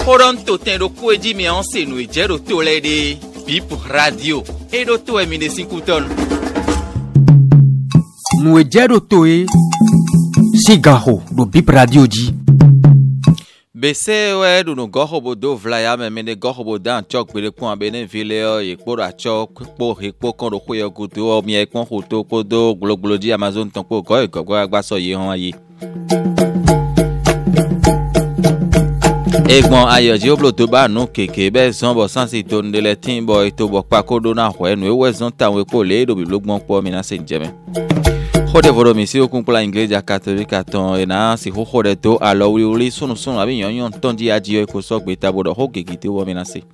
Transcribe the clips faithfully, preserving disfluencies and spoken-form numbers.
Horonto tendo kweji mi anse no ejero to lede Bip Radio edo to emine cinquton no ejero to e sigaho do Bip Radio ji Bese we do no goho bodo vlaya me me ne goho bodan chok bere kwa bene vile e kpora chok po he po kon ro koyo gudu o mi e kon hoto kodo globology Amazon ton po go go agba so ye han yi Egbon ayoji oblo to ba nu keke be zon bo sansi to ndele tin boy to bo pa kodo na ho enu e we zon tan we po le do bi logbon po mi na se njeme Hode voro mi si okun pla iglesia katolika ton ena si ho hode to alo wi uri sunu sunu abi yon yon ton di ajiyo ko so gbe tabodo ho gegite wo mi na se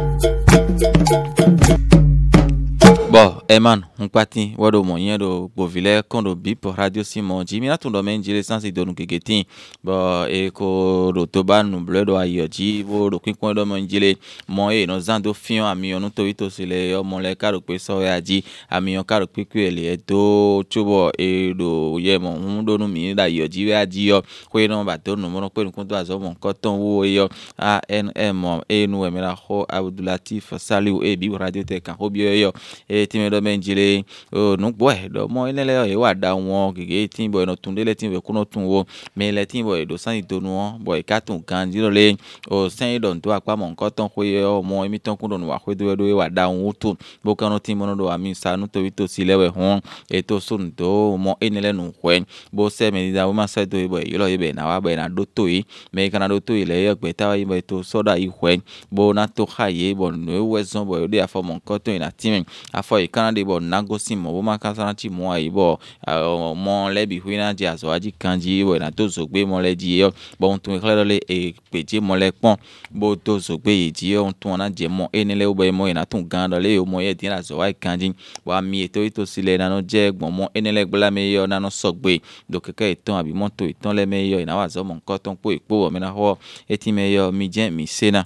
Bon, Eman, on pati wado moyen do bovile kondo Bip Radio Simon Jimi na tundo menjile sansi do nukegetin. Bon, e ko do toba nu bledo ayoji bo do kinkon do menjile mon e no zando fion amiyon no to ito sile yo mon le karo pe so yaji amiyon karo pe ku ele do chubo e do ye mon do nu mi da ayoji we aji yo ko e no ba do nu mo pe nu kon do azo mon koton wo yo a n m e nu e mera ho Abdulatif Saliu e Bip Radio te kan ho bio yo e ti me do menjile o nu boy do mo ile e wa da won gege tin boy no tunde le tin we kuno tun wo me le tin boy do san to nu boy ka tun kan jiro le o san do to apa mo nkan ton ko ye o mo emi ton kun do nu wa ko do do wa da won tun bo kan no tin mo do ami sa nu to wi to si lewe hon e to sun do mo enele nu hwen bo se me da wo ma sa do boy yo lo ibe na wa be na do to yi me kan do to yi le yo gbe ta wa ibe to so da yi hwen bo na to khaye bo no we zon boy de afo mo nkan ton ina tin afo e kan de bo nagosi mo bo ma kan sa ti mo ayi bo mo le bi hu na ji aso aji kanji bo na to so gbe mo le ji yo bo n tun klero le e peje mo le pon bo to so gbe yi ji yo n tun na je mo enele o bo mo ina tun gan do le o mo ye din aso wa kanji wa mi eto ito sile na no je gbon mo enele gbla me yo na no so gbe do keke itan abi mo to itan le me yo ina wa zo mo nkan ton po ipo mi na ho eti me yo mi je mi sena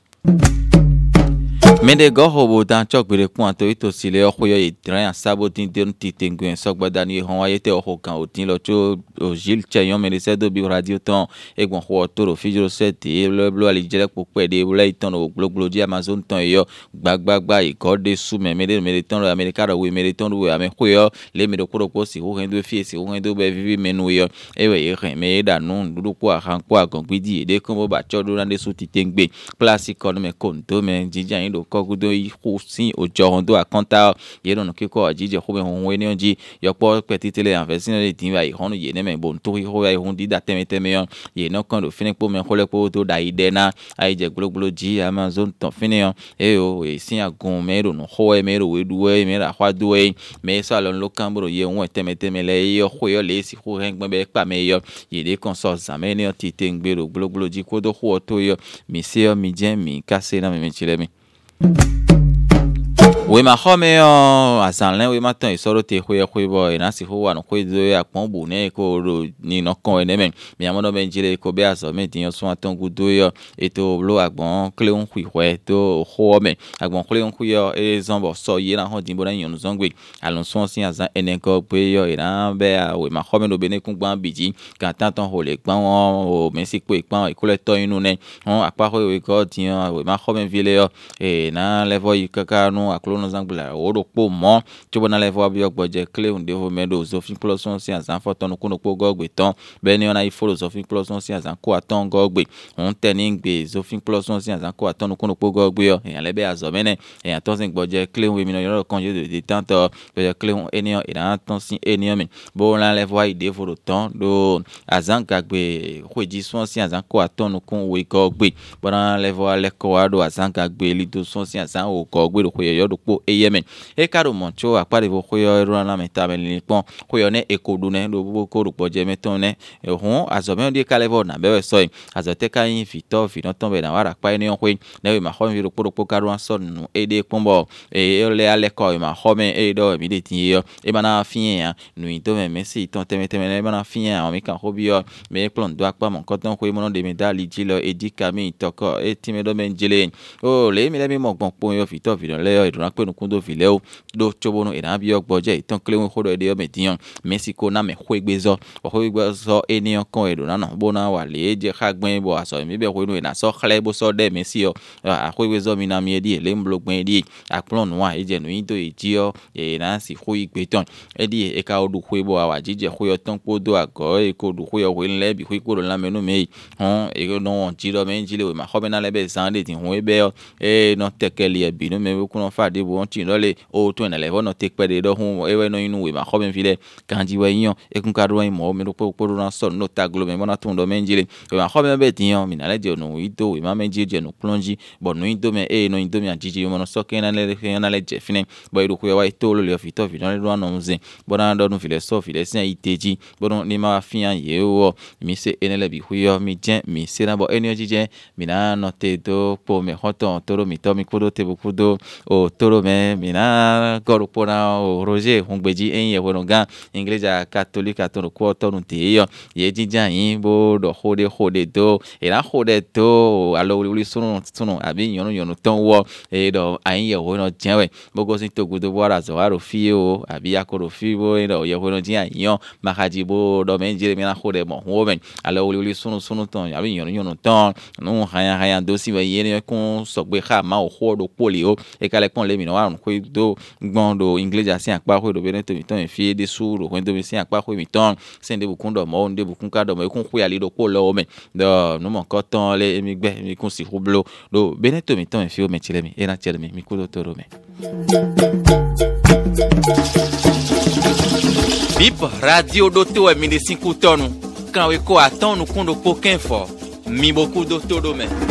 Mende goho bo dan chok bere kun to ito sile o khoyo idran sabotin den titengun sogbada ni hon ayete o kan otin lo cho o Gilles Chayon mele se do Bip Radio ton egbon ho to ro fijiro set e le blo ali jele po pe de blo iton o globology Amazon ton yo gbagbagba iko de su me mele mele ton America ro we mele ton we ame khoyo le me do ko ko si ho hen do fi si ho hen do be vivi menu yo ewe e ren me da nu dudu po akan po agan gbidi de ko mo ba cho do na de su titengbe place ko me konto me jijan do kogudo ihusin ojohondo akonta yero no kiko ajije hobe honwe ni onji yopo petitele anvesin le tinwa ihonu ye ne me bon to ho ya ihun dida temeteme yon ye no kan do fini po me khole po to da idena aije globology Amazon ton fini yon e o e sin agun mero no ho e mero we duwe me ra hwa duwe me so alon lo kan bro ye won temeteme le yo ho yo le si ho hen gbe be pa me yo ye de konso zame ne titengbero globology ko do ho to yo mi se yo mi jen mi kase na me me chile mi We ma home o asanle we ma tan isoro te khoye khoye boy na si ho wa no khoye do ya pon bu ne ko ro ni no kon ene men mi amodo ben jire ko be aso me tin yo so aton gudo yo eto blo agbon kle on khu hwe to ho men agbon kle on khu yo e zombo so ye na ho dimbo na yon zongwe alon so sin azan enen ko pe yo ina be we ma home no be ne kun gban biji kan tan ton ho le gban o men si po ipan ikole to inu ne on apa ho we ko tin we ma home vile yo e na level ikaka no aklo no zangula oro po mo tubo na level abi ogboje clear unde ho medo zofin plus one si azan foton kuno po gogbe ton be ni ona i follow zofin plus one si azan ko aton gogbe on teni ngbe zofin plus one si azan ko aton kuno po gogbe yo eyan lebe azo mene eyan ton sin gboje clear we mi no yoro kan je de tanto be clear eniyan ina ton sin eniyan mi bo la level ide foro ton do azan gagbe khoji son si azan ko aton kun we gogbe bo na level le ko ado azan gagbe li do son si azan o gogbe ro khoyo do po eyemen e karo moncho apare bo khoyo ro na meta ben ni pon khoyo ne ekodu ne do bo ko ro poje meton ne e hon azomen de kalevo na be so azote ka yin fito fi no ton be na wara pa ni on kwe ne we ma ho mi ro po ro po karo an son nu e de pombo e le ale ko ma ho me e do mi de tin yo e bana fin nu ito me mesi ton teme teme ne bana fin o mi kan ho bi yo me plon do apa mon koton kwe mo no de medali jilo e dikami toko e ti me do men jile o le mi le mi mo gbon po yo fito fi no le yo idun pe no kundo vileo do chobono ina bi ogboje itan kle won kodo ede o median Mexico na me khwegbezo o khwegbezo eniyan kan edo na no bona wa le je khagben bo aso mi be khwenu ina so khle bo so de Messi o a khwegbezo mi na mi edi ele mblogben edi aplon wa eje no yin to eji o e na si khwegbe ton edi e ka odu khwebo awa jije khwe ton podo ago e ko du khwe o le bi khwe ko la menu me hon e no won ji do men ji le we ma khobe na le be san de tin ho e be o e no tekeli e bi no me ku no fa de bo won tin lole o to na le no tek pe de do hun e we no inu we ma khobe file kanji we yan e kun ka do yin mo mi ro po po ran so no ta glo me mo na tun do men ji le we ma khobe be tin yan mi na le je no ito we ma men ji je no plonji bo no ito me e no ito mi ajiji mo no so ke na le na le je fine bo iru ku wa ito lo le fi to fi no le do no nze bo na do no file so file sin iteji bo no ni ma fi an ye o mi se enele bi huyo mi jen mi se na bo energy jen mi na no te do po me hoton toro mi to mi kudo te bukudo o toro me mi na goro pona o Roger hungbeji en ye wono gan ingleja catholique atoro ko to nu te yo ye jijan yin bo do hode hode do e na hode to alo wuli sunu sunu abi yonu yonu ton wo e do ayin ye wono jenwe bogo sin to gudo bo ara zo aro fi o abi akoro fi bo e do ye wono jin ayin makaji bo do men jire mi na hode mo wo men alo wuli wuli sunu sunu ton abi yonu yonu ton nu haya haya do si we ye kun so gbe kha ma o hodo poli o e kale pon le mi no arun ko do gbon do ingleja sin apa ko do bene to mi ton fi de suru ko do mi sin apa ko mi ton sen de bukun do mo de bukun ka do mo kun ku ya li do ko lo men do no mo ko ton le mi gbe mi kun si hublo do bene to mi ton fi o me chile mi e na chile mi mi ku do toro me Bip radio do to e mi de cinco tonu kan we ko aton nu kun do pokin fo mi boku do todo me